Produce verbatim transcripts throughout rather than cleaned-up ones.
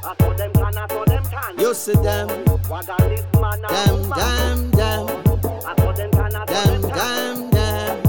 You see them, them, them, them, them, them, them.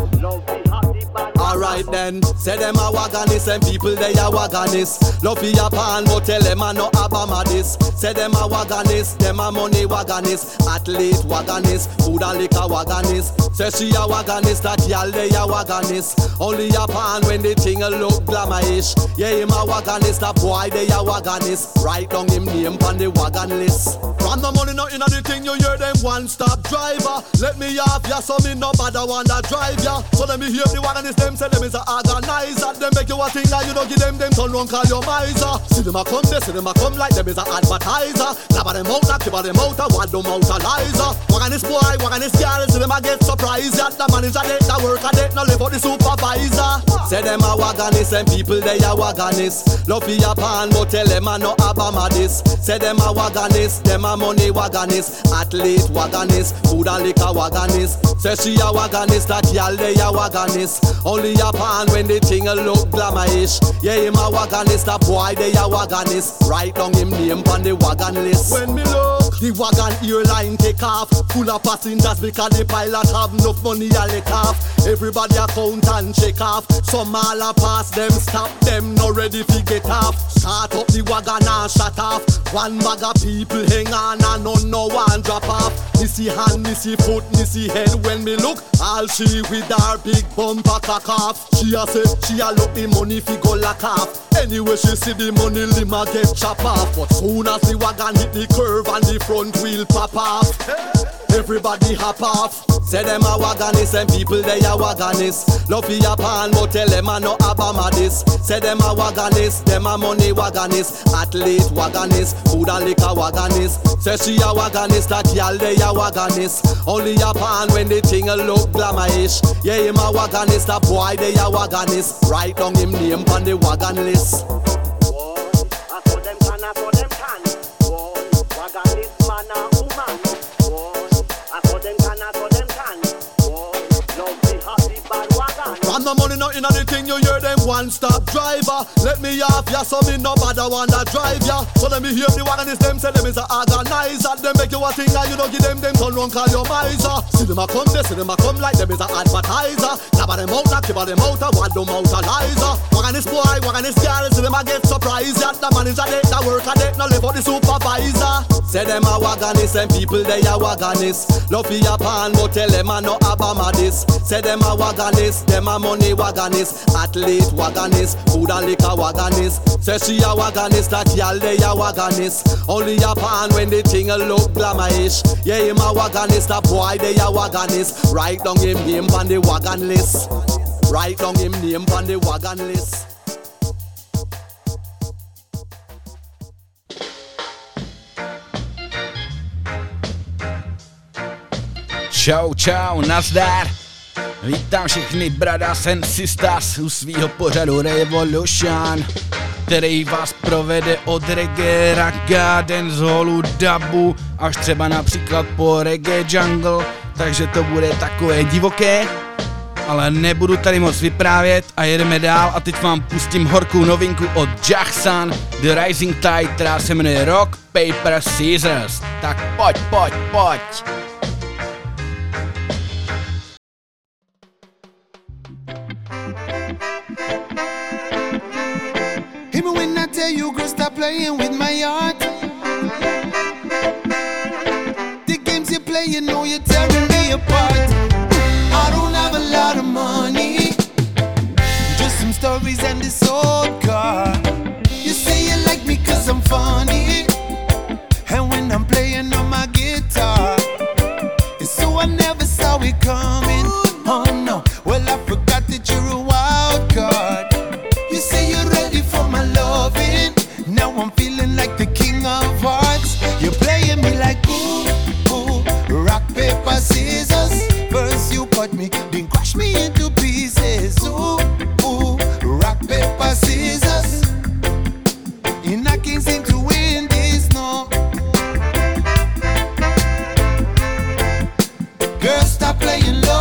Alright then, say them a wagonist and people they a wagonist. Love for your pan but tell them a no Obama this. Say them a wagonist, them a money wagonist. Athlete wagonist, food and liquor wagonist. Say she a wagonist, that y'all they a wagonist. Only a pan when the thing a look glamourish. Yeah him a wagonist, a boy they a wagonist. Write down him name on the wagon list. From the money not in the thing you hear them one stop driver. Let me off ya so me no bother wanna drive ya. So let me hear the wagonist them say them is a organizer. Them make you a thing like you don't give them them turn round call your miser. See them a come there, see them a come like them is a advertiser. Grab them out, knock them out, a what them out a lizer. Wagonist boy, wagonist girl, see them a get surprised. That the man is a date, the work a date, no live for the supervisor. Say them a wagonist and people they a wagonist. Love for your pan but tell them a no Obama this. Say them a wagonist, them a money wagonist. Athlete wagonist, food and liquor wagonist. Say she a wagonist, that y'all they a wagonist. Only a pan when the thing a look glamourish. Yeah him a wagonist, a boy they a wagonist. Write down him name on the wagon list. When me look, the wagon airline take off, full of passengers because the pilot have enough money a lick off. Everybody a count and check off. Some all a pass them, stop them, not ready to get off. Start up the wagon and shut off. One bag of people hang on and none no one drop off. Missy hand, missy foot, missy head. When me look, all she with her big bumper cock off. She a say, she a look the money fi go lock off. Anyway she see the money lima get chop off. But soon as the wagon hit the curve and the front wheel pop off, everybody hop off. Say them a wagonist and people they a wagonist. Love for your pan but tell them a no Obama this. Say them a wagonist, them a money wagonist. Athlete wagonist, food and liquor wagonist. Say she a wagonist, that y'all they a wagonist. Only a pan when the thing a look glamourish. Yeah him a wagonist, a boy they a wagonist. Write down him name on the wagon list. Boy, I saw them can, I saw them can. Boy, wagonist man a woman. Boy, I saw them can, I saw them can. Boy, love the happy bad wagon. From the money not in the thing you hear them one stop driver. Let me off ya so me no bother wanna drive ya. So let me hear the wagonist them say them is a organizer. Them make you a thing like you don't give them them turn round call your miser. See them a come there, see them a come like them is a advertiser. Grab them out, knock them out, a what them out a lizer. Wagonist boy, wagonist girl, see them a get surprised. That the man is a date, the work a date, no live for the supervisor. Say them a wagonist and people they a wagonist. Love for your pan but tell them a no Obama this. Say them a wagonist, them a money wagonist. Athlete wagonist, food and liquor wagonist. Say she a wagonist, that y'all they a wagonist. Only a pan when the thing a look glamourish. Yeah him a wagonist, a boy they a wagonist. Write down him name on the wagon list. Write down him name on the wagon list. Čau, čau, nazdar. Vítám všechny brothers and sisters u svýho pořadu Revolution, který vás provede od reggae, ragga, danceholu, dubu, až třeba například po reggae jungle, takže to bude takové divoké, ale nebudu tady moc vyprávět a jedeme dál a teď vám pustím horkou novinku od Jackson, The Rising Tide, která se jmenuje Rock, Paper, Scissors. Tak pojď, pojď, pojď. You girl, stop playing with my heart. The games you play, you know you're tearing me apart. I don't have a lot of money, just some stories and this old car. You say you like me cause I'm funny, and when I'm playing on my guitar, it's so I never saw it coming. Oh no, well I forgot that you're a wild card. You say you're ready for my loving, now I'm feeling like the king of hearts. You're playing me like ooh, ooh, rock, paper, scissors. First you cut me, then crush me into pieces. Ooh, ooh, rock, paper, scissors. And I can't seem to win this, no. Girl, stop playing low.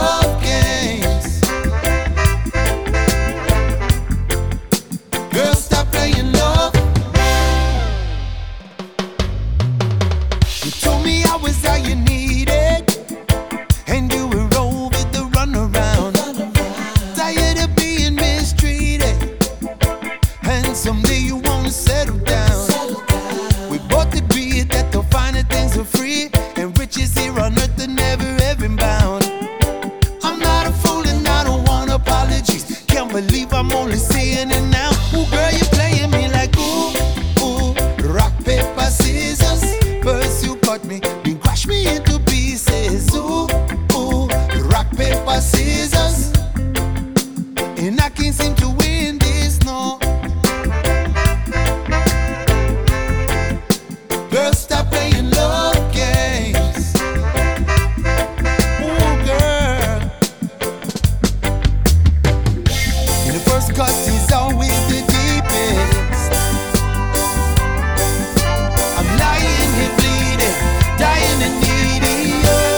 playing it now. Ooh, girl, you playing me like ooh, ooh. Rock, paper, scissors. First you cut me, then crush me into pieces. Ooh, ooh. Rock, paper, scissors. And I can't seem to win this, no. Girl, stop playing love games. Ooh, girl. And the first cut is always the deepest. I'm lying here bleeding, dying and needy.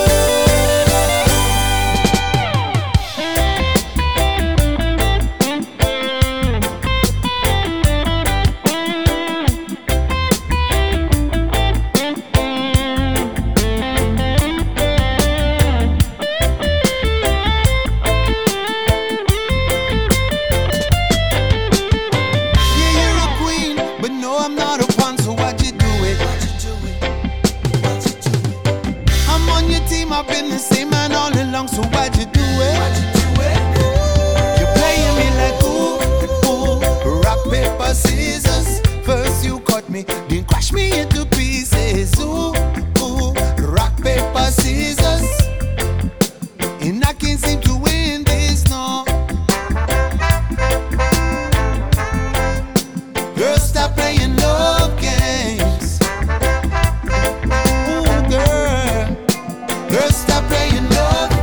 I've been the same man all along, so why'd you do it? Why'd you do it? You're playing me like ooh, ooh. Rock, paper, scissors. First you cut me, then crush me into pieces. Ooh, ooh. Rock, paper, scissors. And I can't seem to win this, no. Girl, stop playing love games. Ooh, girl. Girl, stop playing love.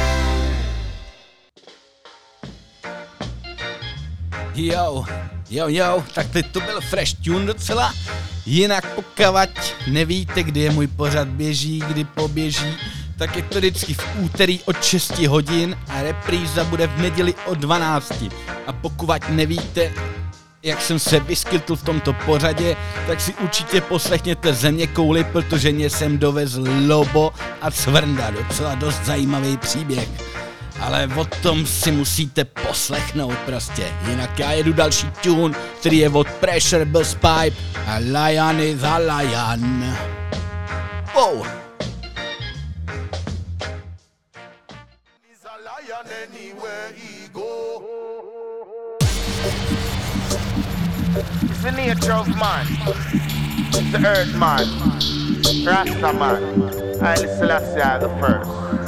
Jo, jo, jo, tak teď to byl fresh tune docela. Jinak pokud nevíte, kdy je můj pořad běží, kdy poběží, tak je to vždycky v úterý od šesti hodin a repríza bude v neděli od dvanácti. A pokud nevíte, jak jsem se vyskytl v tomto pořadě, tak si určitě poslechněte Zeměkouli, protože mě sem dovezl Lobo a Cvrnda, docela dost zajímavý příběh. Ale o tom si musíte poslechnout prostě, jinak já jedu další tune, který je od Pressure Busspipe a Lion is a Lion. Wow. He's a lion anywhere he go. It's the nature of man. It's the earth man. Rasta man. Haile Selassie the first.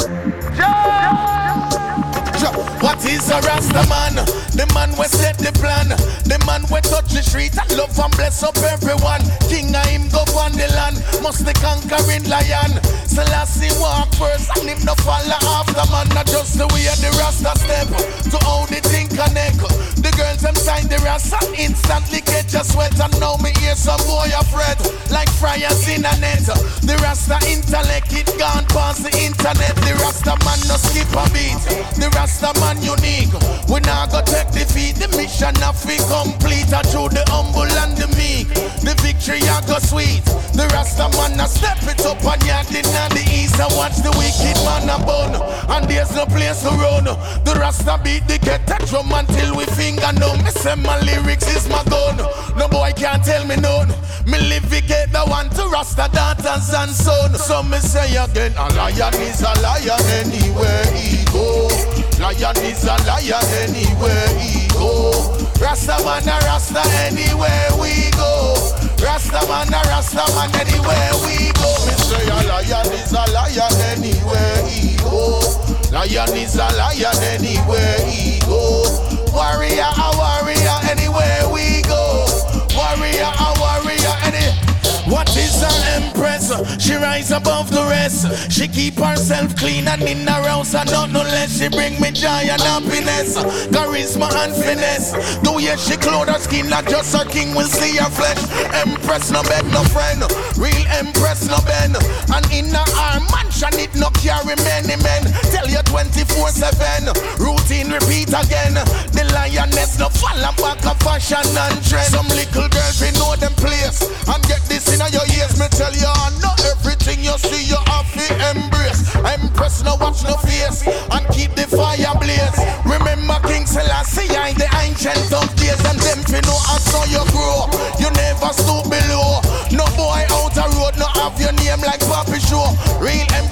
What is a Rasta man? The man we set the plan. The man we touch the street and love and bless up everyone. King of him go on the land. Must the conquering lion. Selassie walk first and him no follow after man. Not just the way the Rasta step to how the thing connect. The girls them sign the Rasta instantly get your sweat. And now me hear some boy afraid like fryers in a net. The Rasta intellect it gone past the internet. The Rasta man no skip a beat. The Rasta man unique. We now go take defeat. The mission of we complete. And through the humble and the meek, the victory a go sweet. The Rasta man a step it up and yard in the east and watch the wicked man a bun. And there's no place to run. The Rasta beat the kettle drum until we finger numb. Me say my lyrics is my gun. No boy can't tell me none. Me live we get the one to Rasta daughters and son. So me say again, a lion is a lion anywhere he go. Lion is a lion anywhere he go. Rasta man a Rasta anywhere we go. Rasta man a Rasta man anywhere we go. Me say a lion is a lion anywhere he go. Lion is a lion anywhere he go. Warrior a warrior anywhere we go. Warrior a warrior anywhere. What is her empress? She rise above the rest. She keep herself clean and in her house and not no less. She bring me joy and happiness, charisma and finesse. Though yes, she clothe her skin, not just her king will see her flesh. Empress no beg no friend, real empress no bend. And in her mansion it no carry many men. Tell you twenty-four seven, routine repeat again. The lioness no fall back of fashion and trend. Some little girls we know them place and get this in your ears. Me tell you, not everything you see you have to embrace. Empress no watch no face and keep the fire blaze. Remember King Selassie I the ancient of days, and them fi know how so you grow. You never stoop below. No boy out a road no have your name like Papi Show. Real empress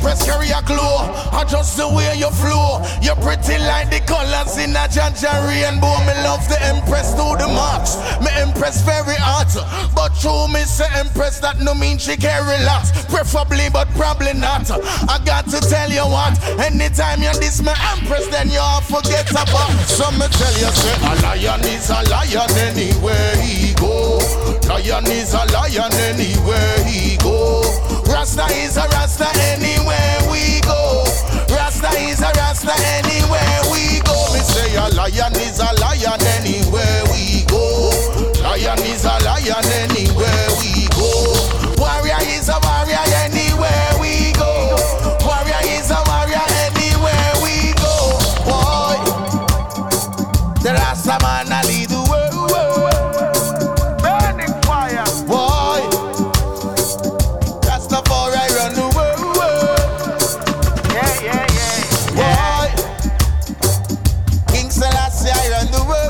Empress carry a glow. I just the way you flow. You're pretty like the colors in a Jaja rainbow. Me love the Empress to the max. Me Empress very hot, but true me say Empress that no mean she can relax. Preferably but probably not. I got to tell you what, anytime you diss me Empress, then you all forget about. So me tell you say a lion is a lion anywhere he go. Lion is a lion anywhere he go. Rasta is a Rasta anywhere we go. Rasta is a Rasta anywhere we go. Me say a lion is a lion anywhere we go. Lion is a lion anywhere we go. Warrior is a warrior anywhere we go. Warrior is a warrior anywhere we go. Boy, the Rasta man a lead the world. Burning fire. Boy, that's the for I run the world. Yeah, yeah, yeah. yeah. Boy, King Selassie I run the world.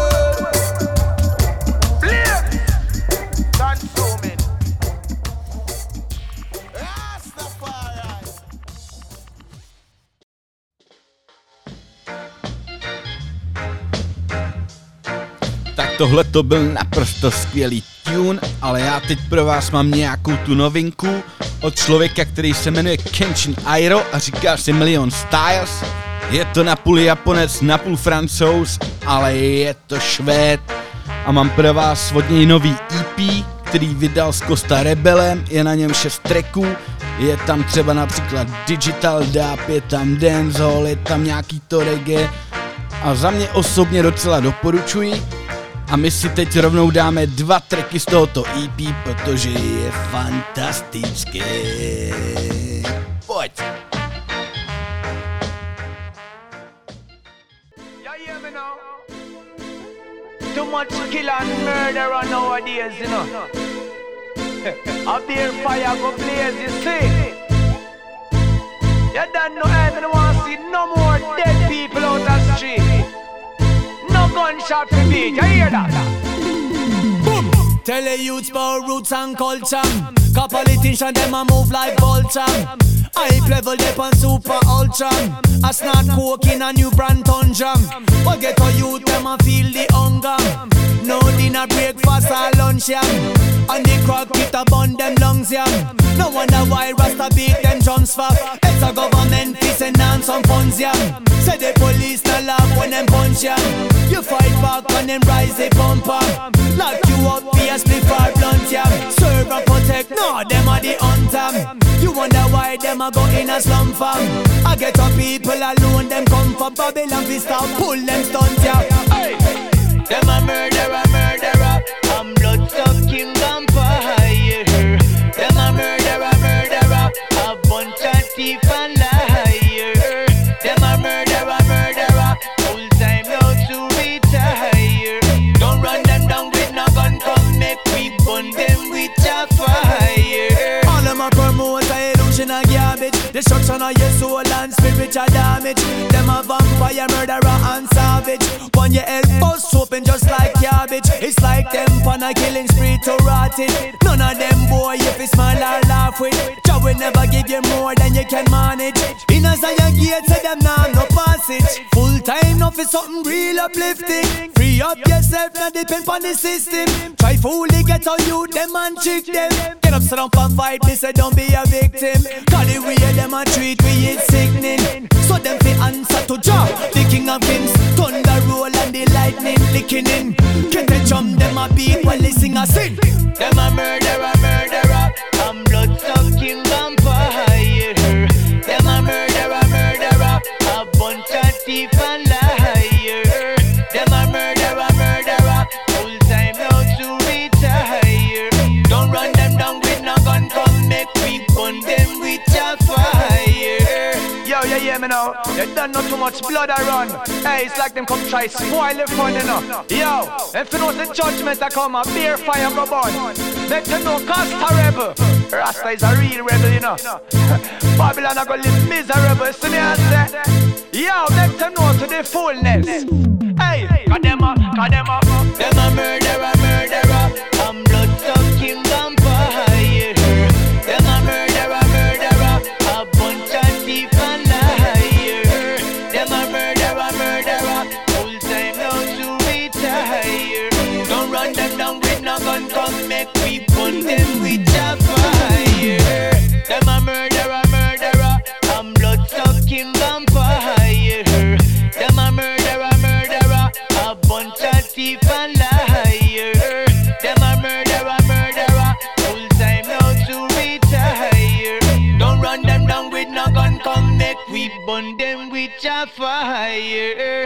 Tohle to byl naprosto skvělý tune, ale já teď pro vás mám nějakou tu novinku od člověka, který se jmenuje Kenshin Airo a říká si Million Styles. Je to napůl Japonec, napůl Francouz, ale je to Švéd a mám pro vás od něj nový E P, který vydal s Costa Rebelem, je na něm šest tracků, je tam třeba například Digital Dub, je tam dancehall, je tam nějaký to reggae a za mě osobně docela doporučuji. A my si teď rovnou dáme dva tracky z tohoto E P, protože je fantastické. Pojď! Yeah, yeah, me now. Too much kill and murder on nowadays, you know. Up there fire go blaze, you see. You don't know I don't want to see no more dead people out the street. No gunshot for me, you hear that? Boom! Tell the youths about roots and culture. Cause politicians them a move like vulture. High level they on super ultra. I snort coke in a new brand tundra. But get a youth them a feel the hunger. No dinner, breakfast or lunch, yeah. And the crowd get a bun them lungs, yeah. No wonder why Rasta beat them drums for. It's a government fee send down some funds, yeah. Say the police not laugh when them punch, yeah. You fight back when them rise the bumper. Lock you up, be a split for blunt, yeah. Serve and protect, no, them are the hunter. You wonder why them a go in a slum farm. I get up people alone, them come from Babylon, we start pull them stunts, yeah. Hey. Them a murderer, murderer, I'm blood-sucking vampire. Them a murderer, murderer, a bunch of thief and liar. Them a murderer, murderer, full time now to retire. Don't run them down with no gun, come make we burn them with a fire. All of my promoters are illusion and garbage. Destruction of your soul and spiritual damage. Them a vampire, murderer and savage. One your head bust open just like cabbage. It's like them on a killing spree to rot it. None of them boy if you smile or laugh with. Jah will never give you more than you can manage. In a Zion gate say them nah no passage. Full time now for something real uplifting. Free up yourself, not depend on the system. Try fully get on you, them and trick them. Get up, sit up and fight, me say don't be a victim. Cause the way them a treat we is sickening. So them fi answer to Jah, the king of kings. Thunder roll and the lightning licking in. Get the drum, them a beat while they sing a sing. Them a murderer, murderer, I'm blood-sucking vampire. Them a murderer, murderer, a bunch of thief and liar. Them a murderer, murderer, full time now to retire. Don't run them down with no gun, come make we burn them with a fire. Yo, you hear me now? You don't know too much blood I run. Hey, it's like them come try spoil the fun, you know. Yo, if you know the judgment I come, a beer fire go burn. Let them know Costa Rebel. Rasta is a real rebel, you know. Babylon I go live miserable, see me I say. Yo, let them know to the fullness. Hey, cause them a, cause them a Them a murderer, murderer, I'm blood-sucking vampire. Them a murderer, murderer, a bunch burn them with a fire.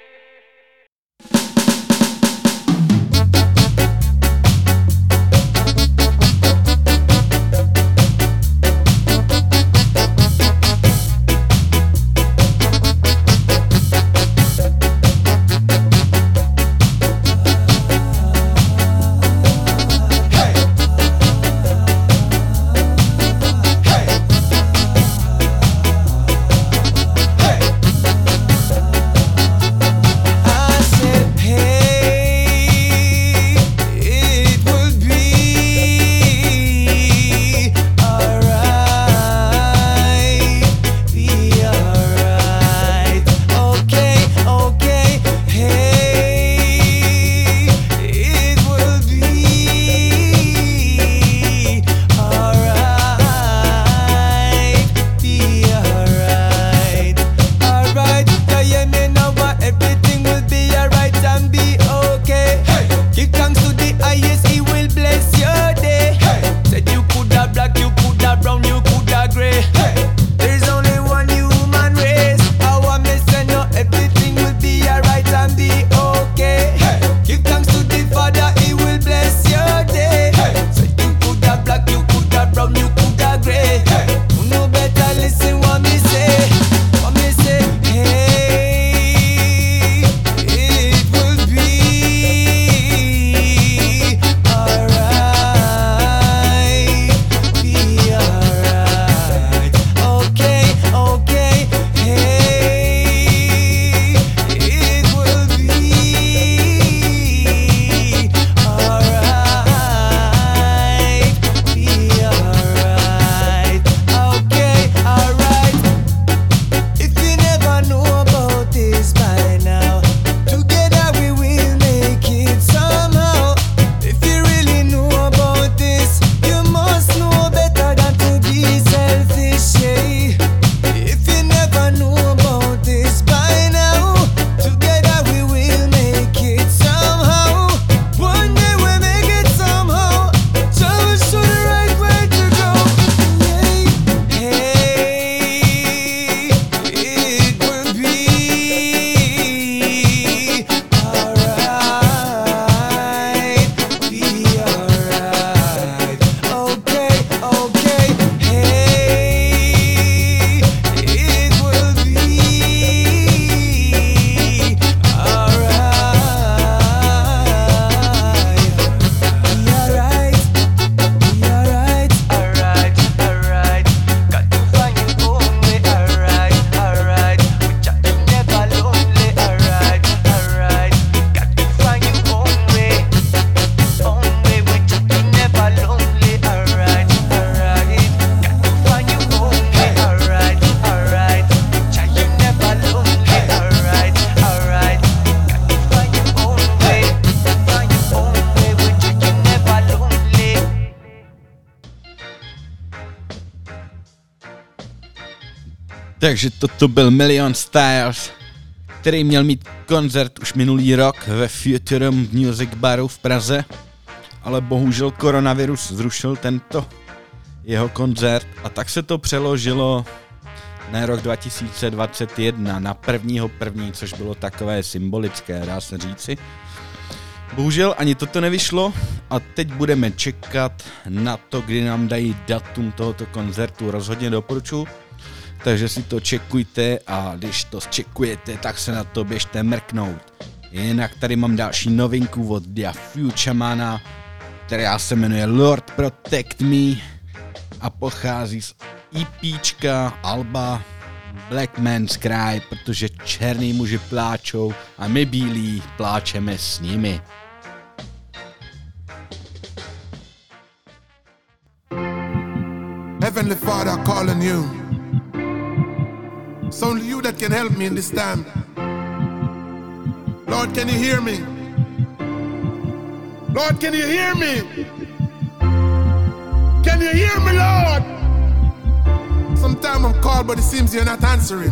Takže toto byl Million Styles, který měl mít koncert už minulý rok ve Futurum Music Baru v Praze, ale bohužel koronavirus zrušil tento jeho koncert a tak se to přeložilo na rok dva tisíce dvacet jedna, na prvního první, což bylo takové symbolické, dá se říci. Bohužel ani toto nevyšlo a teď budeme čekat na to, kdy nám dají datum tohoto koncertu, rozhodně doporučuji. Takže si to čekujte a když to čekujete, tak se na to běžte mrknout. Jinak tady mám další novinku od The Futuremana, která se jmenuje Lord Protect Me a pochází z EPčka alba Black Man's Cry, protože černý muži pláčou a my bílí pláčeme s nimi. Heavenly Father, I call on you. It's only you that can help me in this time. Lord, can you hear me? Lord, can you hear me? Can you hear me, Lord? Sometimes I'm called, but it seems you're not answering.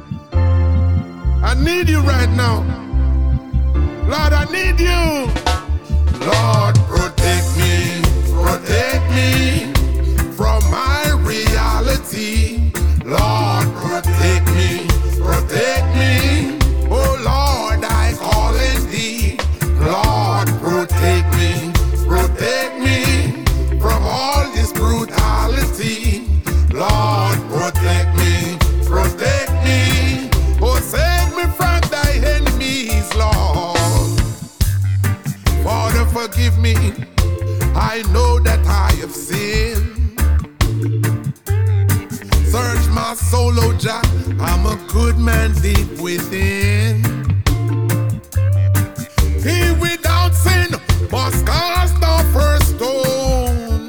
I need you right now. Lord, I need you. Lord, protect me, protect me from my reality. Lord, protect me forgive me. I know that I have sinned. Search my soul, oh Jah, I'm a good man deep within. He without sin must cast the first stone.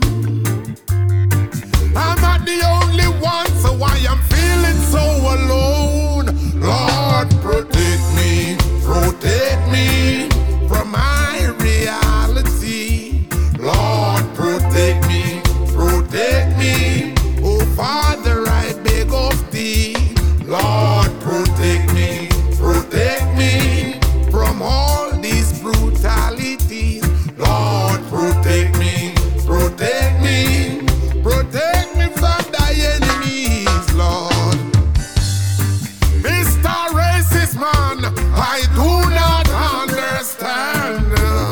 I'm not the only one, so I am feeling so alone. Lord, protect me, protect me from my reality. Lord, protect me, protect me. Oh Father, I beg of thee. Lord, protect me, protect me from all these brutalities. Lord, protect me, protect me, protect me from thy enemies, Lord. Mister Racist Man, I do not understand.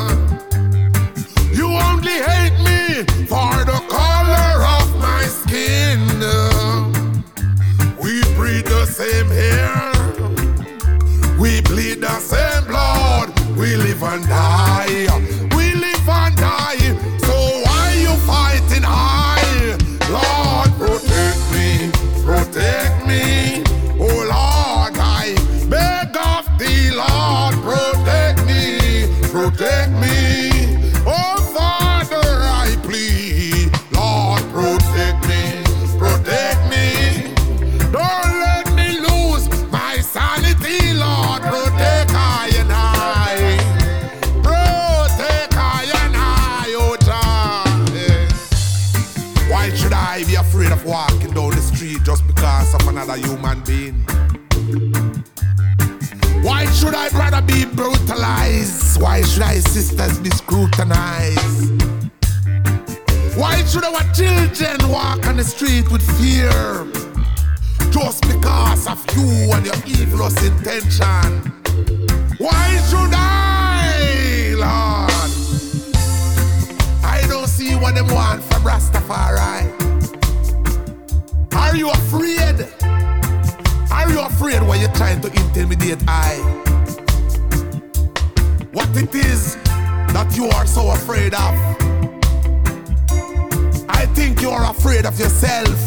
You only hate me for the color of my skin. We breathe the same air, we bleed the same blood, we live and die, we live and die. So why you fighting high? Lord, protect me, protect me. Oh Lord, I beg of thee, Lord, protect me, protect me. Oh Father, I plead, Lord, protect me, protect me. Don't let me lose my sanity, Lord, protect I and I. Protect I and I, oh Jah. Yeah. Why should I be afraid of walking down the street just because of another human being? Why should I rather be brutalized? Why should I sisters be scrutinized? Why should our children walk on the street with fear? Just because of you and your evilous intention. Why should I, Lord? I don't see what them want from Rastafari. Are you afraid? Are you afraid when you're trying to intimidate I? What it is that you are so afraid of? I think you are afraid of yourself.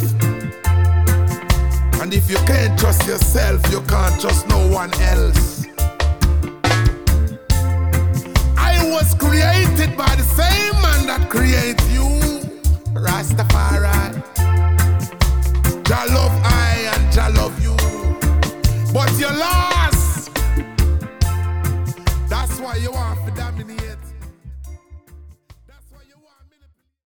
And if you can't trust yourself, you can't trust no one else. I was created by the same man that created you, Rastafari. Jah love I and Jah love you, but you're lost. That's why you want to dominate. That's why you want me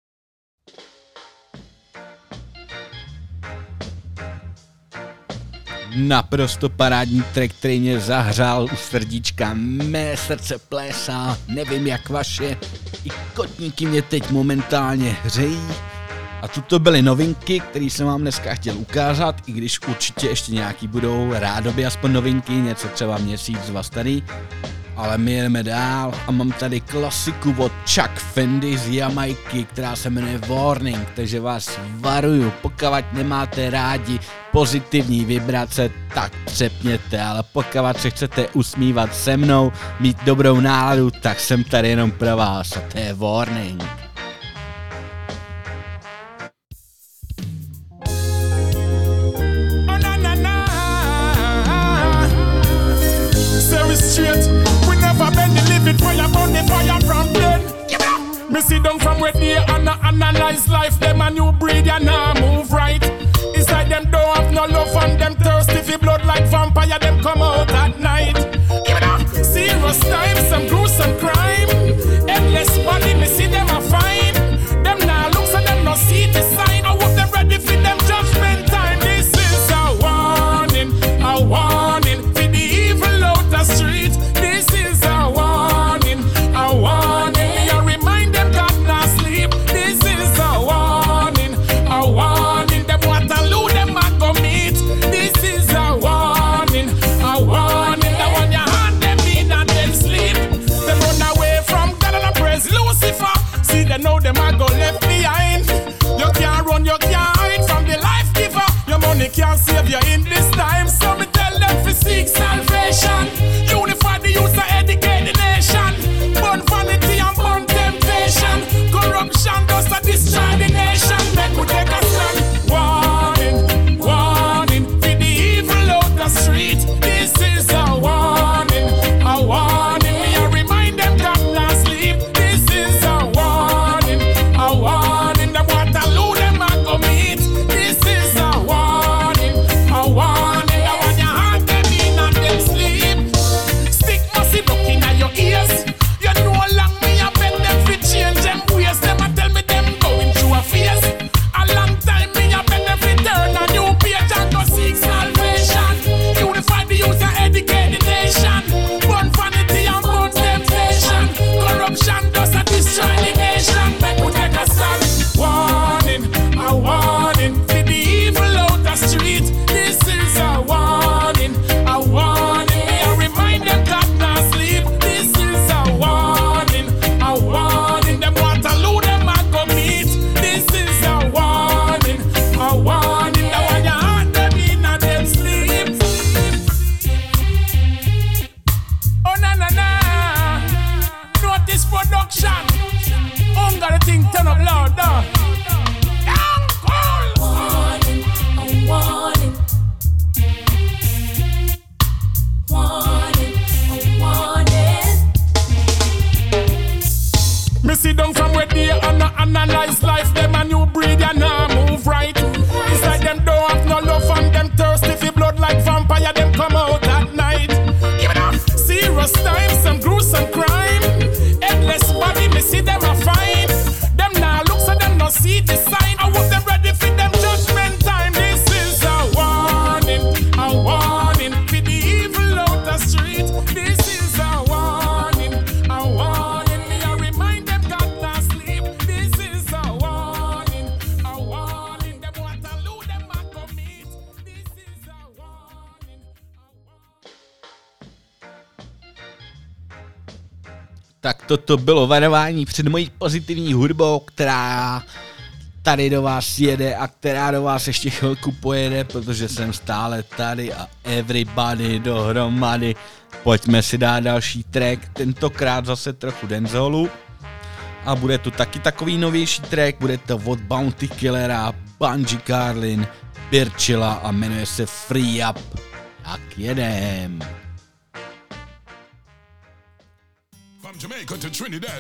to... Naprosto parádní track, který mě zahřál u srdíčka. Mé srdce plésá, nevím jak vaše. I kotníky mě teď momentálně hřejí. A tuto byly novinky, které jsem vám dneska chtěl ukázat, i když určitě ještě nějaký budou, rádoby aspoň novinky, něco třeba měsíc, dva starý. Ale my jedeme dál a mám tady klasiku od Chuck Fendi z Jamajky, která se jmenuje Warning, takže vás varuju, pokud nemáte rádi pozitivní vibrace, tak přepněte, ale pokud se chcete usmívat se mnou, mít dobrou náladu, tak jsem tady jenom pro vás a to je Warning. Fire burn the fire from then. Me sit down from where they and analyze life. Them a new breed and now move right. It's like them don't have no love and them thirsty for blood like vampire. Them come out at night. Give it up. Serious time, some gruesome crime. Endless body, me see them a fine. Them now looks and them no see the sign. I hope them ready for them judgment time. This is a warning, a warning for the evil out the street. This is a warning, a warning. Me a remind them God not sleep. This is a warning, a warning. Them Waterloo, them a go meet. This is a warning, a warning. That Lord, Lord, Lord. Warning, a warning. Warning, a warning. Me sit down from where they and I analyze life. Them a new breed and now move right. It's like them don't have no love and them thirsty for blood like vampire. Them come out at night. Give it up. Serious times, some gruesome crime. Headless body, me see them a fine. Them now look so them no see the sign. I want them ready for them judgment time. This is a warning, a warning for the evil out the street. This is a warning, a warning. Me I remind them God not sleep. This is a warning, a warning. Them want to lose them and commit. This is a warning, a warning. Tak toto bylo varování před mojí pozitivní hudbou, která tady do vás jede a která do vás ještě chvilku pojede, protože jsem stále tady a everybody dohromady. Pojďme si dát další track, tentokrát zase trochu danceholu. A bude tu taky takový novější track, bude to od Bounty Killera, Bunji Garlin, Birchilla a jmenuje se Free Up. Tak jedem. From Jamaica to Trinidad.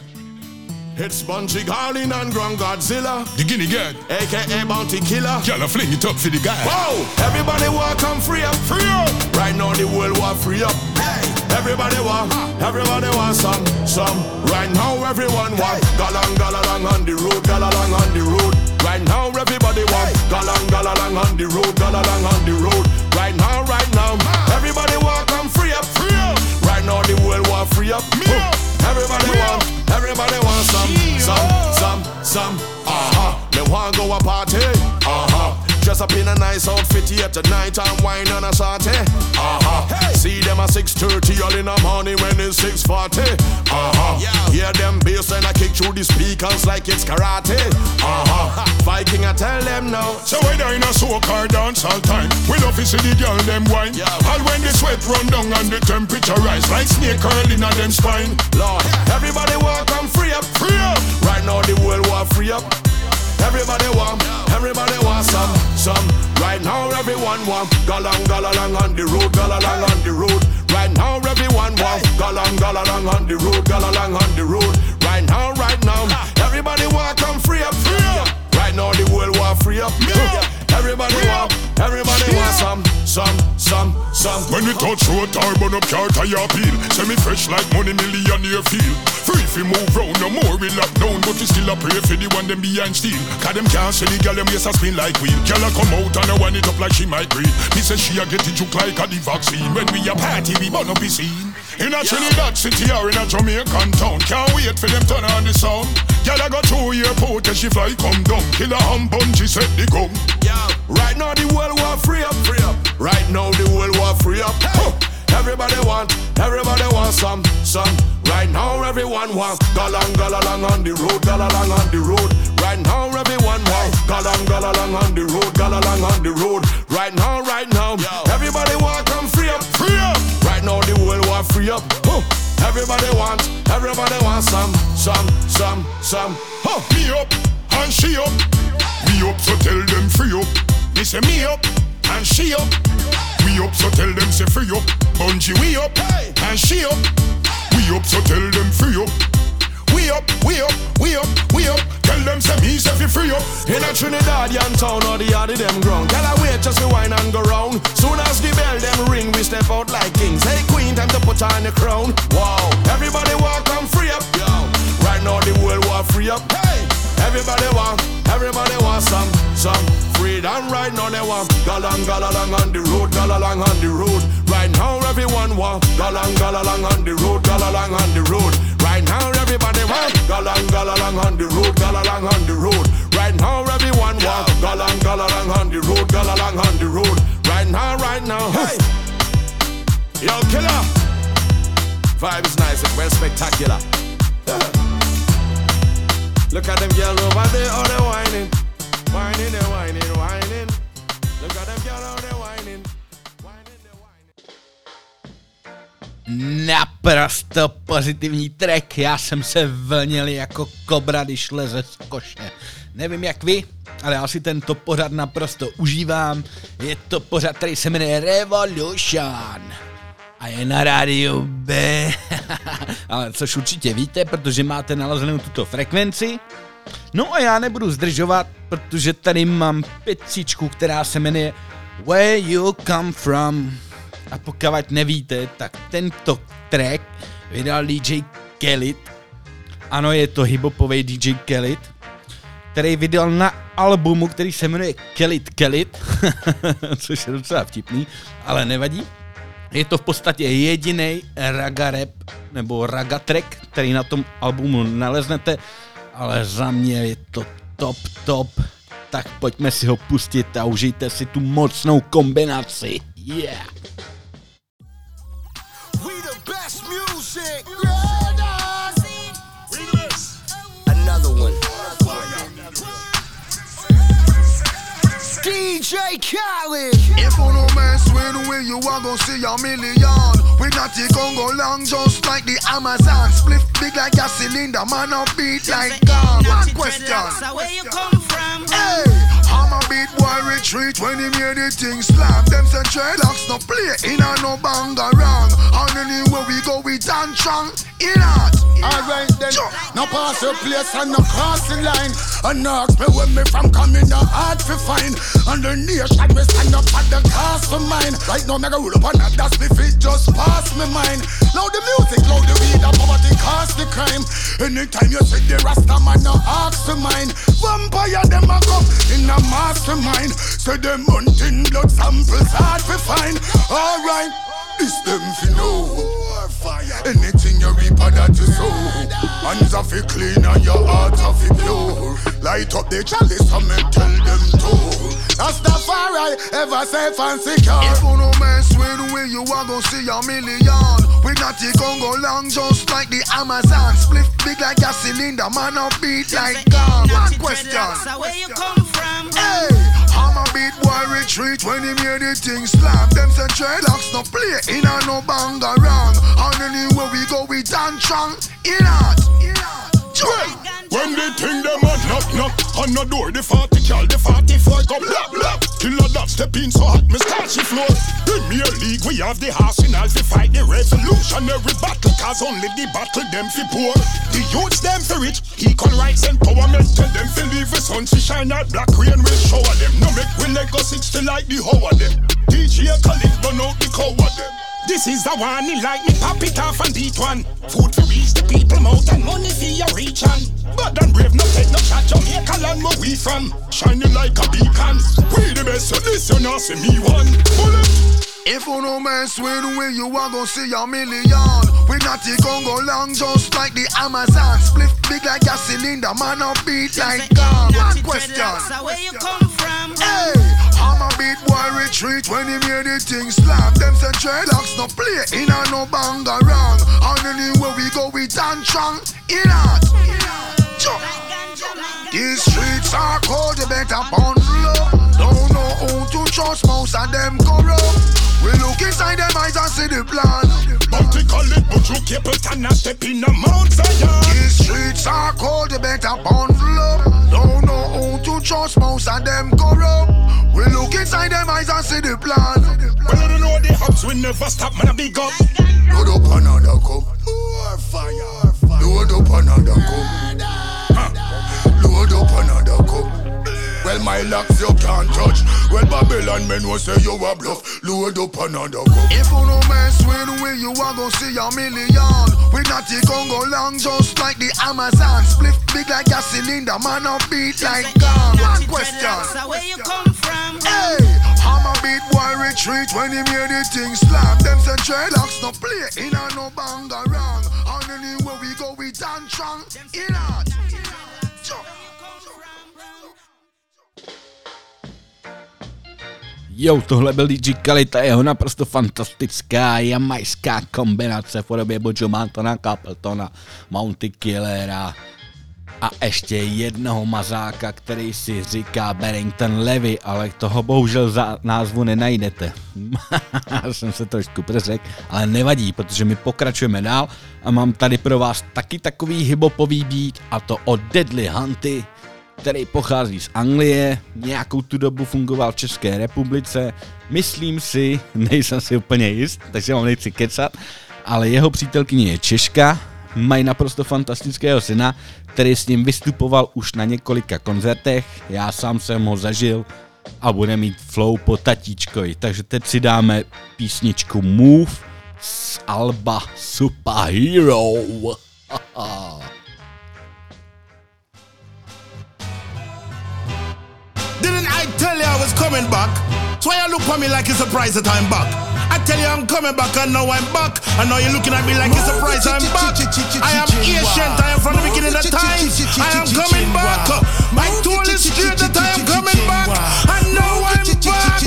It's Bunji Garlin and Grand Godzilla, The Guinea Gad. A K A Bounty Killer. Y'all fling it up for the guy. Whoa! Everybody want come free up, free up. Right now the world want free up. Hey! Everybody want, everybody want some, some. Right now everyone want. Galang galang on the road, galang on the road. Right now everybody want. Galang galang on the road, galang on the road. Right now, right now, everybody want come free up, free up. Right now the world want free up. Everybody want, everybody want some, some, some, some. Uh-huh. They want go a party. Uh-huh. Dress up in a nice outfit here tonight and wine on a shorty. Uh-huh. Hey. See them at six thirty all in the morning when it's six forty. Uh-huh. Yeah. Hear them bass and I kick through the speakers like it's karate. Uh-huh. Viking I tell them now. So when they're in a soca dance all time, we love to see the girl them wine. Yeah. All when the sweat run down and the temperature rise like snake curling on them spine. Lord, everybody want come free up, free up. Right now the world want free up. Everybody want, everybody want some, some. Right now everyone want. Galang galang on the road, galang on the road. Right now everyone want. Galang galang on the road, galang on the road. Right now, right now, everybody want come free up, free up. Right now the world want free up. Everybody want, everybody want some, some, some, some. When we touch road, tar burn up car tire peel. Send me fresh like money millionaire feel. Free if we move round, no more we lock down. But we still a pray for the one them behind steel. Cause them can't see the girl them yes a spin like wheel. Girl a come out and a wind it up like she might breathe. He says she a get it juke like a the vaccine. When we a party we burn up the scene. In a Trinidad city or in a Jamaican town. Can't wait for them turn on the sound. Girl a go through airport and she fly come down. Killer and Bunji set the gun. Yeah, right now the world want free up, free up. Right now the world want free up. Hey. Everybody want, everybody want some, some. Right now everyone want. Galang galang on the road, galang on the road. Right now everyone want. Galang galang on the road, galang on the road. Right now, right now, everybody want come free up, free up. Right now the world want free up. Huh. Everybody want, everybody want some, some, some, some. Huh. Me up and she up. Me up so tell them free up. Me say me up and she up. We up so tell them say free up. Bunji we up hey. And she up. We up so tell them free up. We up, we up, we up, we up. Tell them say me say fi free up. In a Trinidadian town or the yard of them ground. Tell her wait just to wine and go round. Soon as the bell them ring we step out like kings. Hey queen time to put on the crown. Wow, everybody want come free up. Yo. Right now the world want free up. Hey, everybody want, everybody want some, some freedom. Right now they want. Galang galang on the road, galang on the road. Right now everyone want. Galang galang on the road, galang on the road. Right now everybody want. Galang galang on the road, galang on the road. Right now everyone want. Galang galang on the road, galang on the road. Right now, right now. Hey, yo killer. Vibe is nice and well spectacular. Yeah. Look at them girls over there, oh they whining, whining, they whining, whining. Look at them girls, oh they whining, whining, they whining. Na naprosto pozitivní track, já jsem se vlnil jako kobra, když leze z koše. Nevím jak vy, ale já si tento pořad naprosto užívám. Je to pořad, který se jmenuje Revolution a je na rádiu B. Ale což určitě víte, protože máte nalazenou tuto frekvenci. No a já nebudu zdržovat, protože tady mám pecíčku, která se jmenuje Where You Come From. A pokud nevíte, tak tento track vydal D J Khaled. Ano, je to hiphopový D J Khaled, který vydal na albumu, který se jmenuje Khaled Khaled, což je docela vtipný, ale nevadí. Je to v podstatě jediný raga rap, nebo raga track, který na tom albumu naleznete, ale za mě je to top top. Tak pojďme si ho pustit a užijte si tu mocnou kombinaci. Yeah! We the best music. Another one. D J Khaled. If you no mess with we, you are gonna see a million. We not the Congo long, just like the Amazon. Split big like a cylinder, man a beat like gum. One question. So where you come from? Hey, I'm a beat boy retreat when he made the thing slam. Them say dreadlocks no play in a no banga wrong. And anywhere we go, we dance strong. In art. Alright then, no pass your place and no cross the line. And ask me where me from coming, no hard to find. And the nation me stand up at the cast for mine. Right now me go roll up on that, that's me fit just pass me mind. Loud the music, loud the weed, and poverty cause the crime. Anytime you see the Rasta man, no ask for mine. Vampire them a come in a mastermind. Say them hunting blood samples hard to find. Alright, this them fi know. Anything you reap of that you sow. Hands are fi clean and your heart are fi pure. Light up the chalice and me tell them to. That's the far I ever safe and secure. If you no mess with we, you are gonna see a million. We not the Congo long, just like the Amazon. Split big like a cylinder, man a beat like gum. One question. So where you come from? Hey, I'm a beat boy retreat when he made the thing slam. Them say dreadlocks no play in a no banga wrong. And anywhere we go, we dance strong. In art. When they think them a knock knock on the door, the forty cal, the forty-four come lap lap. Killer that step in so hot, me starchy floor. Premier League, we have the arsenal to fight the revolutionary battle. Cause only the battle them fi poor. The youths them fi rich, equal rights empowerment. Tell them fi leave the sun to shine out, black rain will shower them. No make we Lego sixty like the hoe of them. D J Khaled run out the cow of them. This is the one, he like me pop it off and beat one. Food to reach the people mouth and money for your reach on. But then brave no take no shot, Jamaica land where we from. Shining like a beacon. We the best, so listen now see me one. Bullet. If you no mess with we, you are gonna see a million. We not the Congo long, just like the Amazon. Split big like a cylinder, man a beat like gum. One question. So where you come from? Hey, I'm a beat boy retreat when he made the thing slam. Them say dreadlocks no play in a no banga wrong. And anywhere we go, we dance strong. In art. These streets are cold, you better bundle up. Don't know who to trust, most of them corrupt. We look inside them eyes and see the plan. Bounty call it, but you keep it and not step in the Mount Zion. These streets are cold, you better bundle up. Don't know who to trust, most of them corrupt. We look inside them eyes and see the plan. Well, I don't know the hubs will never stop, man, I big up. Load up another cup. More fire. Load up another cup. Load up another cup. Well, my locks you can't touch. Well, Babylon men will say you a bluff. Load up another cup. If you no mess with we, you are gonna see a million. We not the Congo long, just like the Amazon. Split big like a cylinder, man a beat like gum. One question. So where you come from? Hey, I'm a beat boy retreat when he made the thing slam. Them say dreadlocks no play in a no banga wrong. And anywhere we go, we dance strong. In art. Jo, tohle byl D J Khaled a jeho naprosto fantastická jamajská kombinace v podobě Bojo Mantona, Capletona, Mounty Killera. A ještě jednoho mazáka, který si říká Barrington Levy, ale toho bohužel za názvu nenajdete. Jsem se trošku přeřekl, ale nevadí, protože my pokračujeme dál a mám tady pro vás taky takový hiphopový beat, a to od Deadly Hunty, který pochází z Anglie, nějakou tu dobu fungoval v České republice, myslím si, nejsem si úplně jist, takže vám nechci kecat, ale jeho přítelkyně je Češka, mají naprosto fantastického syna, který s ním vystupoval už na několika koncertech, já sám jsem ho zažil a bude mít flow po tatíčkovi, takže teď si dáme písničku Move z alba Superhero. Didn't I tell you I was coming back? So why you look at me like it's a surprise that I'm back? I tell you I'm coming back and now I'm back. And now you're looking at me like it's a surprise I'm back. I am ancient, I am from the beginning of time. I am coming back. I told you straight that I am coming back. And now I'm back.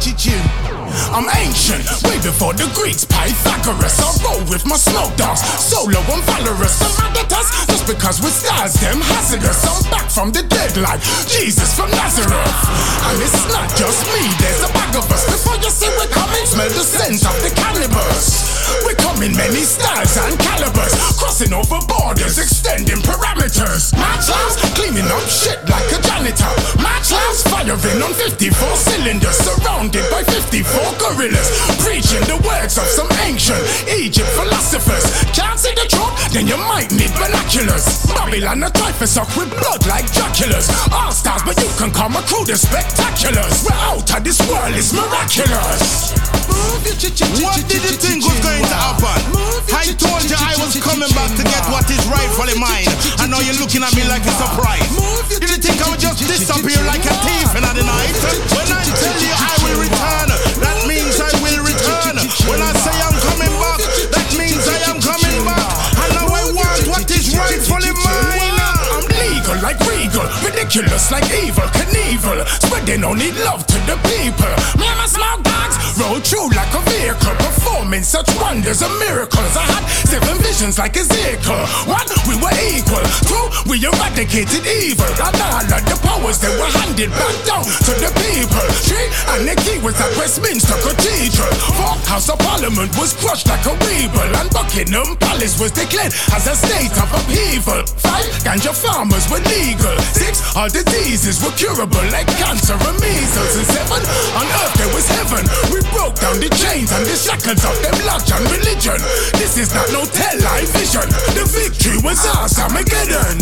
I'm ancient, way before the Greeks, Pythagoras. I roll with my smoke dogs, solo and valorous. Some mad at us, just because we're stars, them hazardous. I'm back from the dead like Jesus from Nazareth. And it's not just me, there's a bag of us. Before you see we're coming, smell the scent of the cannibals. We come in many styles and calibers, crossing over borders, extending parameters. Match house, cleaning up shit like a janitor. Match house, firing on fifty-four cylinders, surrounded by fifty-four gorillas, preaching the words of some ancient Egypt philosophers. Can't see the truth? Then you might need binoculars. Babylon a type of suck with blood like Dracula's. All stars, but you can call my crew the spectaculars. We're out of this world, it's miraculous. What did you think was going to happen? I told you I was coming back to get what is rightfully mine, and now you're looking at me like a surprise. Did you think I would just disappear like a thief in the night? When I tell you I will return, that means I will return. When I say I'm coming back, that means I am coming back. And now I want what is rightfully mine. I'm legal like regal, ridiculous like evil, Knievel, spreading only love to the people. Me and my small dogs roll through like a vehicle, performing such wonders and miracles. I had seven visions like Ezekiel. One, we were equal. Two, we eradicated evil. And all of the powers that were handed back down to the people. Three, and the key was at Westminster Cathedral. Four, House of Parliament was crushed like a weevil, and Buckingham Palace was declared as a state of upheaval. Five, ganja farmers were legal. Six, all diseases were curable like cancer and measles. And seven, on earth there was heaven. We broke down the chains and the shackles of them lodge and religion. This is not no television. The victory was ours, Armageddon.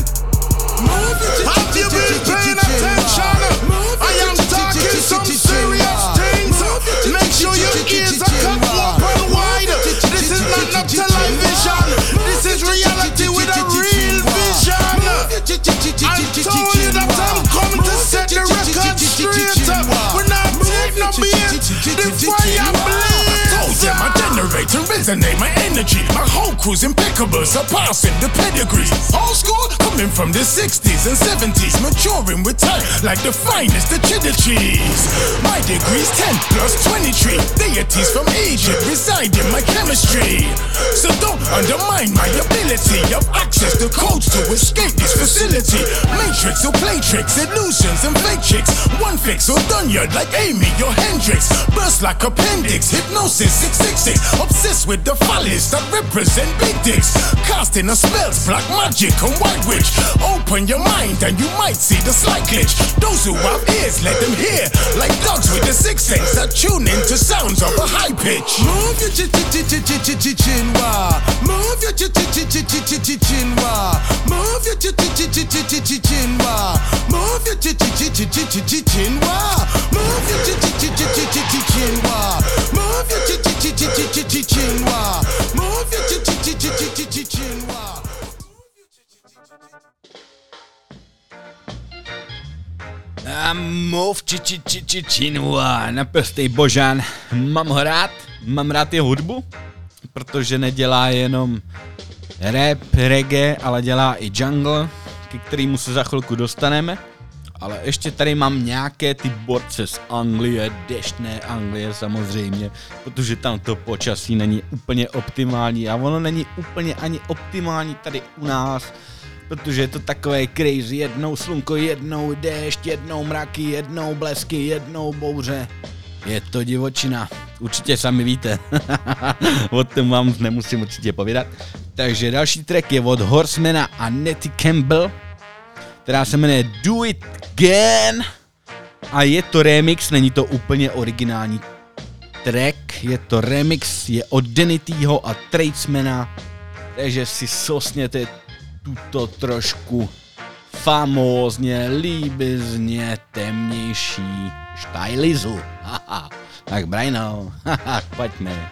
Have you been paying attention? I am talking some serious things. Make sure your ears are cut open wide. This is not no television. This is reality with a real vision. I told you that I'm coming to set the record straight. We're not taking no beat. The fire blaze. Yeah, my generator resonate my energy. My whole crew's impeccable, surpassing the pedigree. Old school, coming from the sixties and seventies, maturing with time like the finest of cheddar cheese. My degree's ten plus twenty-three. Deities from Egypt reside in my chemistry. So don't undermine my ability of access to codes to escape this facility. Matrix or play tricks, illusions and fake chicks. One fix or done you like Amy or Hendrix. Burst like appendix, hypnosis six six six. Obsessed with the follies that represent big dicks. Casting a spells, black magic and white witch. Open your mind and you might see the slight glitch. Those who have ears, let them hear. Like dogs with the sixth sense that tune into sounds of a high pitch. Move your ch ch ch ch ch ch ch chinwa. Move your ch ch ch ch ch ch ch chinwa. Move your ch ch ch ch ch ch ch chinwa. Move your ch ch ch ch ch ch ch chinwa. Move your ch ch ch ch ch ch ch chinwa. Move your ch ch ch ch ch ch ch chinwa. Move your ch ch ch ch ch ch ch chinwa. A mov či či či či činua, naprostej božán, mám ho rád, mám rád jeho hudbu, protože nedělá jenom rap, reggae, ale dělá i jungle, ke kterému se za chvilku dostaneme, ale ještě tady mám nějaké ty borce z Anglie, deštné Anglie samozřejmě, protože tam to počasí není úplně optimální a ono není úplně ani optimální tady u nás, protože je to takové crazy, jednou slunko, jednou déšť, jednou mraky, jednou blesky, jednou bouře. Je to divočina, určitě sami víte, o tom vám nemusím určitě povídat. Takže další track je od Horsemana a Nettie Campbell, která se jmenuje Do It Again a je to remix, není to úplně originální track, je to remix, je od Denityho a Tradesmana, takže si sosněte tuto trošku famózně, líbizně temnější štajlizu. Haha, tak Brajno, haha, pojďme.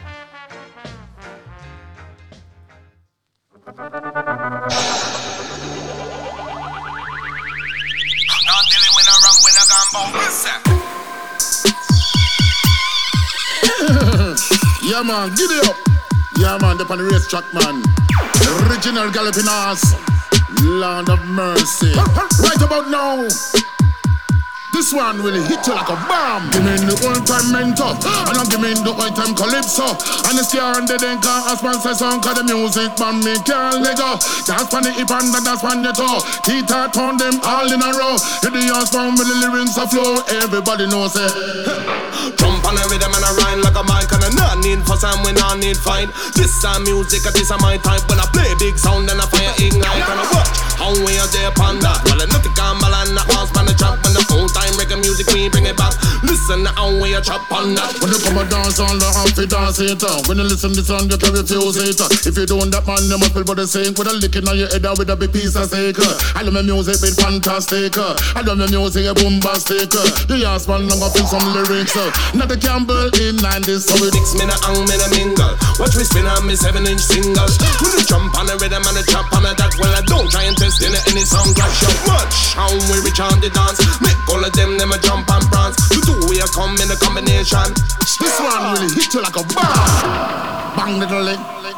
Yeah man, get it up. Yeah man, up on the race track man. Original galloping ass. Land of mercy. Right about now, this one will hit you like a bomb. Give me the old time mentor, and I'm giving the old time calypso. And the star and the denka, as man says song, cause the music man me can't let go. That's when the hip and that's when the toe. Tita turn them all in a row. Hit the ass down with the lyrics a flow. Everybody knows it. Jump on the rhythm and I rhyme like a mic. And I not need for some, we not need fight. This is music, this is my type. When I play big sound, then I fire ignite. And I watch how we are there upon that. Well, I know the gamble and the house man the chop. When the old time reggae music, we bring it back. Listen how we a chop on that. When you come and dance on the half it dance it. When you listen this song, you can refuse it. If you don't that man, you must feel for the sink. With a lick in your head with a big piece of steak. I love my music, it's fantastic. I love my music, it's bombastic. The ass man, I'm gonna feel some lyrics. Not the Campbell in and this. So we mix me the hang, me the mingle. Watch me spin on me seven inch single. When you jump on the rhythm and the chop on the that. Well, I don't try and test in any song clash up much. How we reach on the dance. Make all of them, them a jump and prance. The two we a come in a combination. This one really hit you like a bomb. Bang the leg.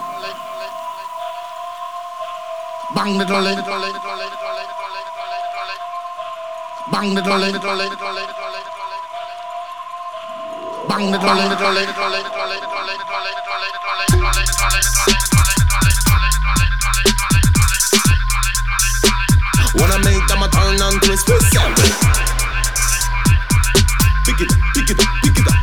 Bang the leg. Bang the leg. Bang the leg. Wanna make them a turn and twist with something. Pick it up, pick it up, pick it up.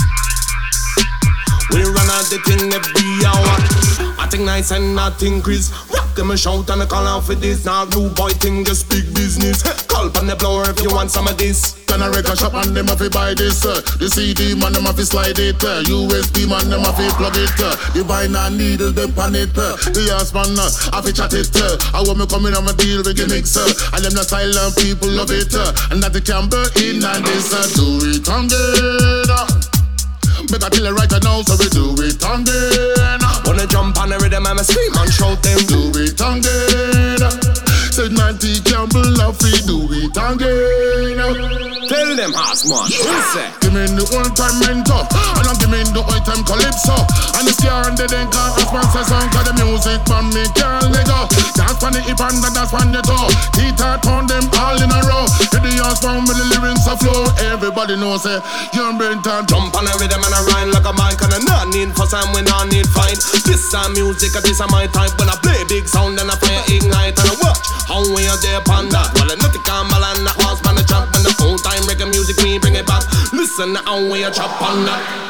We run out the thing every hour. I think nice and not increase. Rock them a shout and a call out for this. Now rude boy thing just big business. Call on the blower if you want some of this. Can I record shop and them have to buy this? Uh, the C D man them have to slide it. Uh, U S B man them have to plug it. Uh, the vinyl needle them pan it. Uh, the ass man uh, have to chat it. Uh, I want me come in on my deal with gimmicks. Uh, and them the silent people love it. Uh, and that the Campbell in and this. Uh, do it again. Uh, Make a tell it right now, so we do it again. Wanna jump on the rhythm and scream and shout them. Do it again. Said Nancy Campbell love we do it again. Tell them ass man. Yeah. Give me the old time mentor, and I'm giving the old time calypso. And the star and the denka, as man says song, cause the music man me can't let go. That's when the hip and that's when the toe. Tita turn them all in a row. Hit the ass down with the lyrics a flow. Everybody knows it. Young Brenton jump on the rhythm and I rhyme like a mic. And I not need for some, we not need fight. This is music, this is my type. When I play big sound, then I fire ignite. And I watch how we are there upon that. Well, I know the gamble and the horse man the chop. When the old time reggae music, we bring it back. Listen how we a chop on that.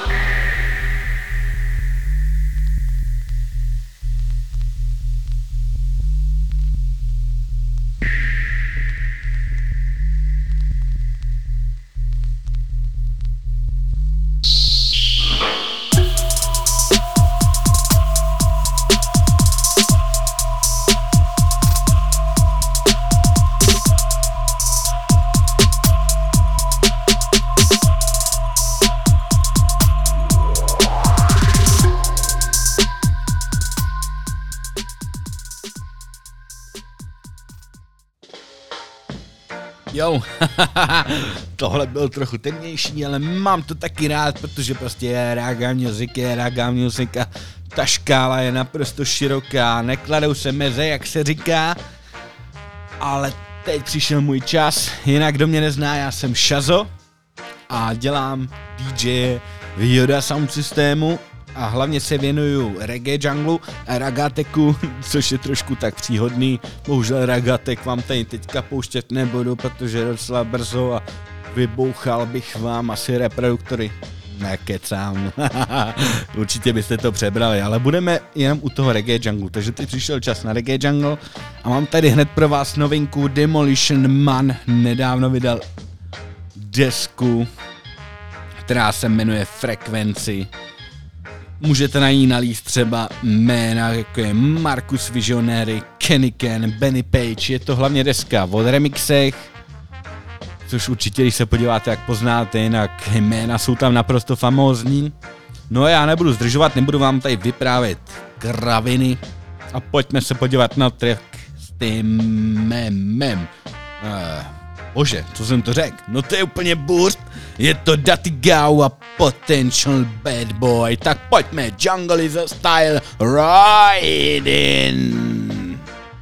Jo, tohle byl trochu temnější, ale mám to taky rád, protože prostě je raga music, je raga music a ta škála je naprosto široká, nekladou se meze, jak se říká, ale teď přišel můj čas, jinak kdo mě nezná, já jsem Shazo a dělám D J v Yoda Sound systému a hlavně se věnuju reggae junglu a ragateku, což je trošku tak příhodný. Bohužel ragatek vám tady teďka pouštět nebudu, protože je docela brzo a vybouchal bych vám asi reproduktory. Nekecám. Určitě byste to přebrali, ale budeme jenom u toho reggae junglu, takže teď přišel čas na reggae jungle a mám tady hned pro vás novinku. Demolition Man nedávno vydal desku, která se jmenuje Frekvenci. Můžete na ní nalíst třeba jména, jako je Marcus Visionary, Kenny Ken, Benny Page. Je to hlavně deska o remixech, což určitě, když se podíváte, jak poznáte, jinak jména jsou tam naprosto famózní. No a já nebudu zdržovat, nebudu vám tady vyprávět kraviny a pojďme se podívat na track s tím memem. Uh, bože, co jsem to řekl? No to je úplně burst. Je to Dutty Gau a Potential Bad Boy. Tak pojďme, Jungle is a style riding.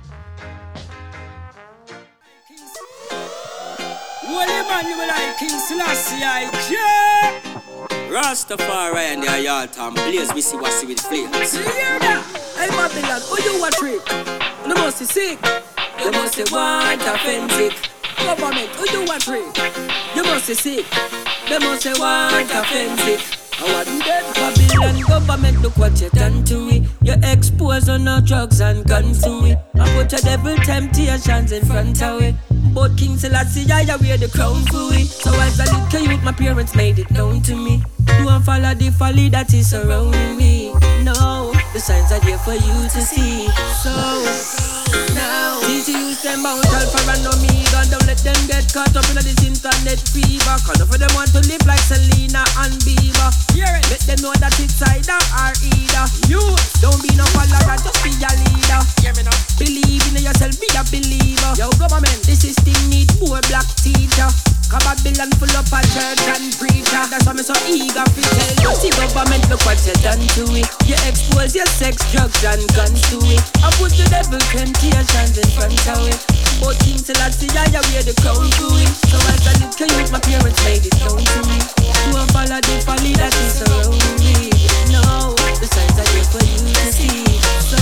Well, yeah, man, you like King Selassie, yeah. Rastafari and the Ayaltam blaze, we see what's with flames. Yeah, that. Hey, Babylon, who you a trick? You must be sick. You must be want offensive. Government, who you a trick? You must be sick. You must be want offensive. I want that Babylon government, look what you done to it. You expose on no drugs and guns to it. I put your devil temptations in front of it. But King Selassie, I wear the crown for it. So as a little youth, my parents made it known to me. Don't follow the folly that is surrounding me. No, the signs are there for you to see. So, now, teach you use them out alpha and omega. Don't let them get caught up in this internet fever. Cause enough of them want to live like Selena and Bieber. Hear it. Let them know that it's either or either. You don't be no follower, just be a leader. Hear me now. Believe in yourself, be a believer. Yo, government, this system need more black teacher. Cause Babylon full up a church and preacher. That's why me so eager to tell you. See government, look what you done to it. You expose your sex, drugs and guns to it. I put the devil temptations in front of it. But King Selassie, I wear the crown to it. So as a little youth, my parents made it known to me. Don't follow the folly that is surrounding me. No, the signs are there for you to see. So,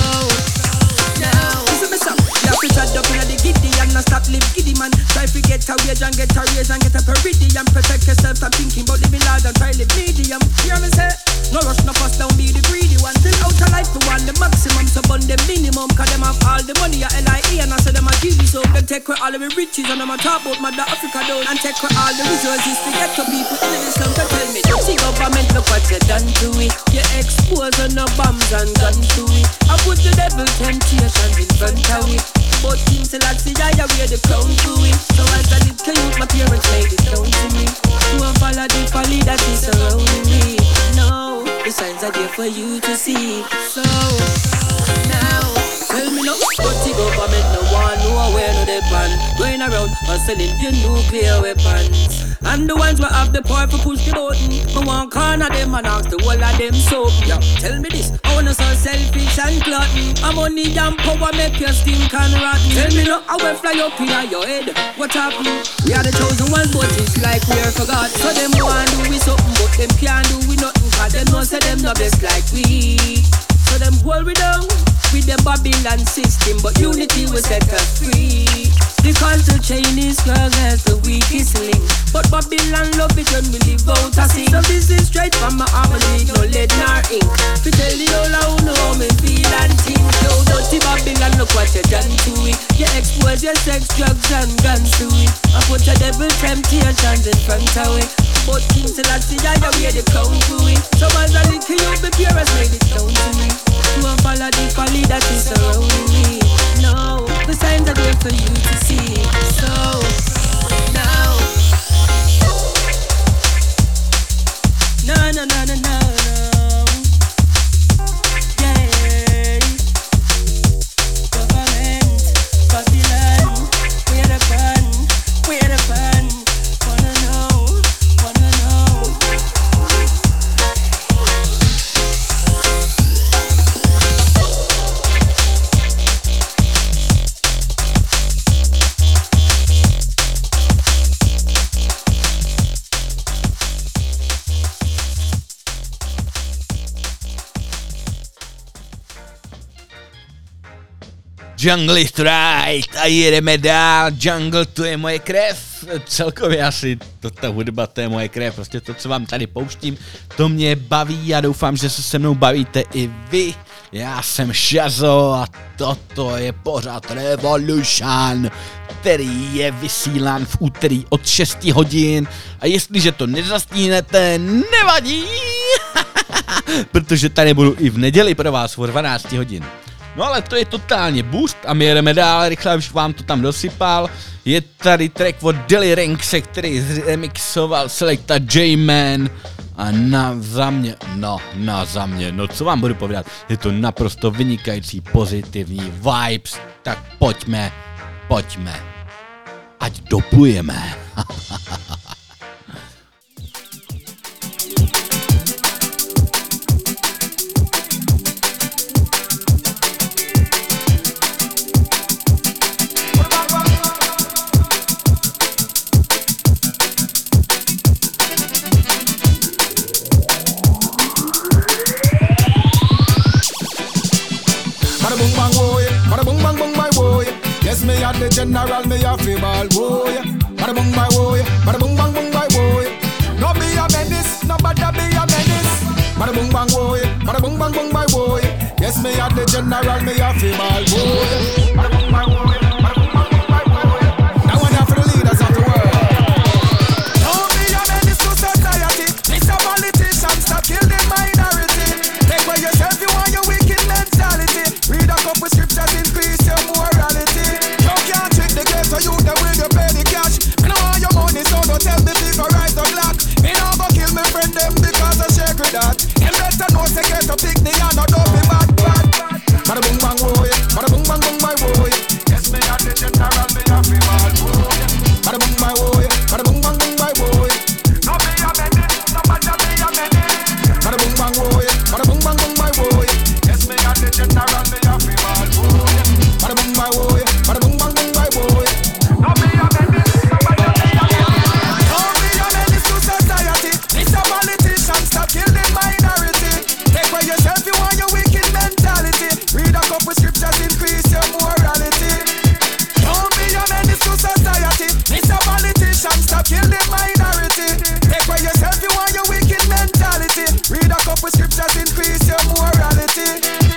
now, listen me some. You have to shut up in the giddy and not stop live giddy man. Try to get a wage and get a raise and get a peridium. Protect yourself, stop thinking about living large and try live medium. Hear me say? No rush, no fuss, don't be the greedy one. Till out of life to want the maximum, so bun the minimum. Cause them have all the money at L I E and I say them a G V. So them take away all of the riches and them a talk about Mother Africa down. And take away all the resources to get to people in the slum. So tell me, don't see government, look what you done to it. You expose on the bombs and guns to it. I put the devil temptations in front of it. But King Selassie, I wear the crown to it. So as a little youth, my parents made it known to me. Don't follow the folly that is surrounding me. No, the signs are there for you to see. So, now, tell me no, but the government no one know where no they pan. Going around hustling your nuclear weapons. And the ones who have the power for push the button. I want corner them and ask the whole of them soap. Yeah, tell me this, I wanna so selfish and glutton. I'm money and power make your stink and rotten. Tell me no, I will fly up in your head. What happened? We are the chosen ones, but it's like we are forgot. So them want do we something, but them can't do we nothing. Cause them know say them no best like we. So them hold we down with the Babylon system, but unity will set us free. The culture chain is strong as the weakest link, but Babylon love it when we live out a sing. So this is straight from my harmony, no lead nor ink. To tell the whole I know how me feel and think. Yo, dirty Babylon, look what you done to it. You expose your sex, drugs and guns to it. I put your devil temptations in front of it. But King Selassie, I wear the crown to it. So as a little you, the parents made it down to me. Don't follow the folly that is surrounding me. No, the signs are there for you to see. So, now, no, no, no, no, no, no. Yeah, government, Babylon, we're the fun, we're the fun. Wanna know, wanna know. Jungle is right a jedeme dál, Jungle to je moje krev, celkově asi to, ta hudba to je moje krev, prostě to, co vám tady pouštím, to mě baví a doufám, že se se mnou bavíte i vy. Já jsem Shazo a toto je pořád Revolution, který je vysílán v úterý od šesti hodin a jestliže to nezastíhnete, nevadí, protože tady budu i v neděli pro vás o dvanácti hodin. No ale to je totálně boost a my jedeme dál, rychle už vám to tam dosypal. Je tady track od Deli Rankse, který remixoval Selecta J-Man a na za mě, no, na za mě, no co vám budu povídat, je to naprosto vynikající pozitivní vibes, tak pojďme, pojďme, ať dopujeme. Yes, me at the general, me a fi ball, boy. Bada bung my boy, bada bung bang bung my boy. No be a menace, no bada be a menace. Bada bung bang boy, bada bung bang bung my boy. Yes, me at the general, me a fi ball, boy. Bada bung my boy, bada bung bang bung my boy. Now one for the leaders of the world. No be a menace to society. This a politician, stop kill the minority. Take away yourself, you want your wicked mentality. Read a couple scriptures, increase your morality. So you the will you pay the cash. I know all your money, so don't tell me figure right or black. Me now go kill me friend them because I shake with that. Them better know say get to pick me and not be bad, bad, bad. Bada boom bang boy, bada boom bang boom my boy. Yes me at the general, me a free bad boy. Bada boom my boy, bada boom bang boom my boy. No be a menace, no bada be a menace. Bada boom bang boy, bada boom bang boom my boy. Yes me at the general, me a free bad boy. Bada boom my boy, bada boom bang boom my boy. Kill the minority. Take away yourself, you want your wicked mentality. Read a couple scriptures, increase your morality. Don't be a menace to society. It's a politician, stop kill the minority. Take away yourself, you want your wicked mentality. Read a couple scriptures, increase your morality.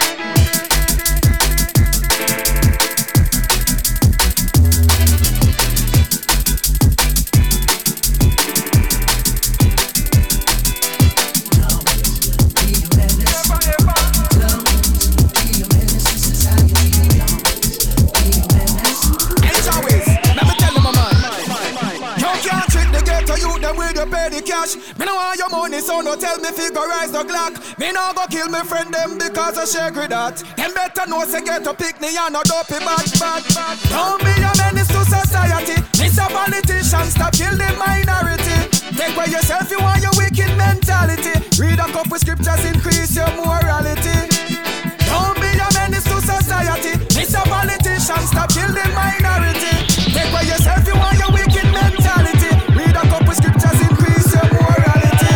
Pay the cash. Me no want your money, so no tell me figurize the Glock. Me no go kill me friend them because I shake with that. Them better know say get to pick me and not dopey bad, bad, bad. Don't be a menace to society. This a politician, stop kill the minority. Take away yourself, you want your wicked mentality. Read a couple scriptures, increase your morality. Don't be a menace to society. This a politician, stop kill the minority. Take away yourself, you want your wicked mentality. Read a couple scriptures, increase your morality.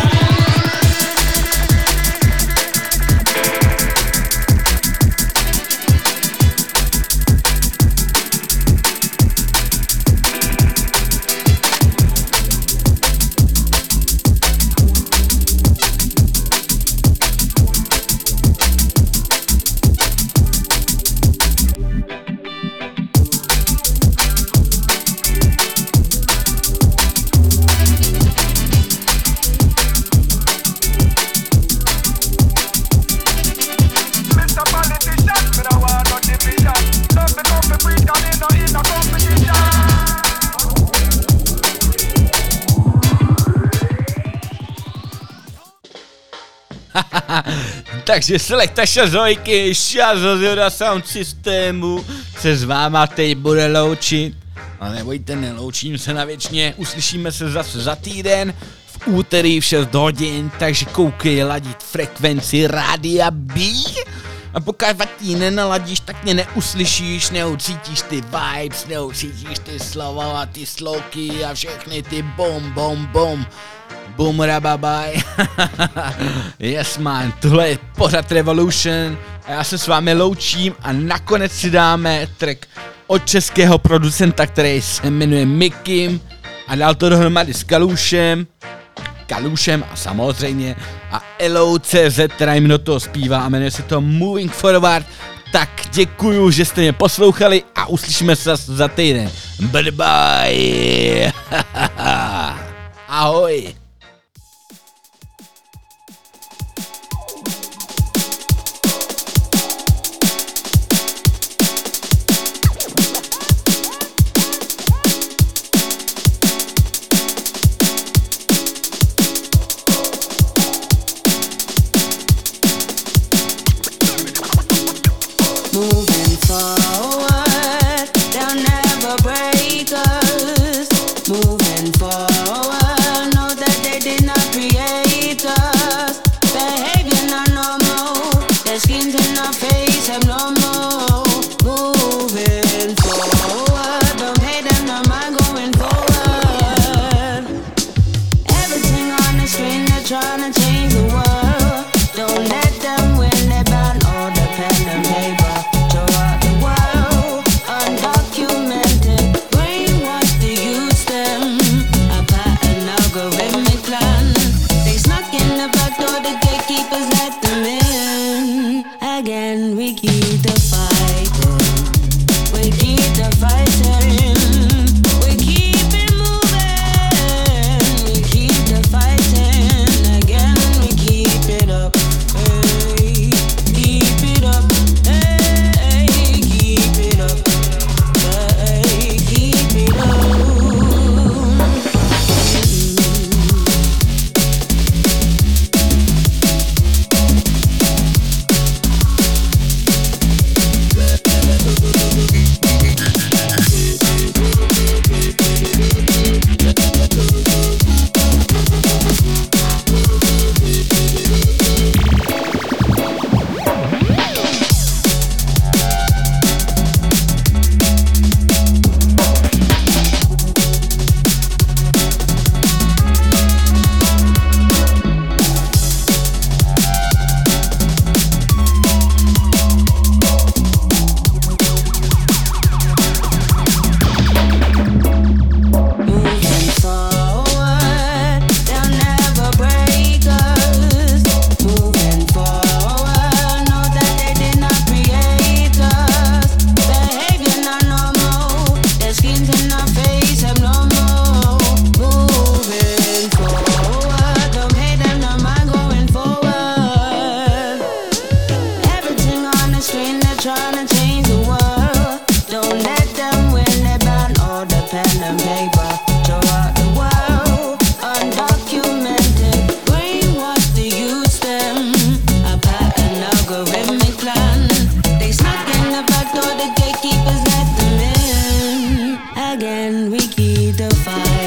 Takže Selecta Shazojky, Shazo z Yoda Sound Systemu se s váma teď bude loučit. A nebojte, neloučím se na věčně, uslyšíme se zase za týden v úterý v šest hodin, takže koukej ladit frekvenci Rádia B. A pokud vatí nenaladíš, tak mě neuslyšíš, neucítíš ty vibes, neucítíš ty slova a ty sloky a všechny ty bom, bom, bom. Boom, rababaj. Yes man, tohle je pořad Revolution A já se s vámi loučím a nakonec si dáme track od českého producenta, který se jmenuje Mikim a dal to dohromady s Kalušem, Kalušem a samozřejmě a Elou tečka cé zet, která jim do toho zpívá a jmenuje se to Moving Forward. Tak děkuju, že jste mě poslouchali a uslyšíme se za týden. Bye bye. Ahoj. Again, we keep the fight.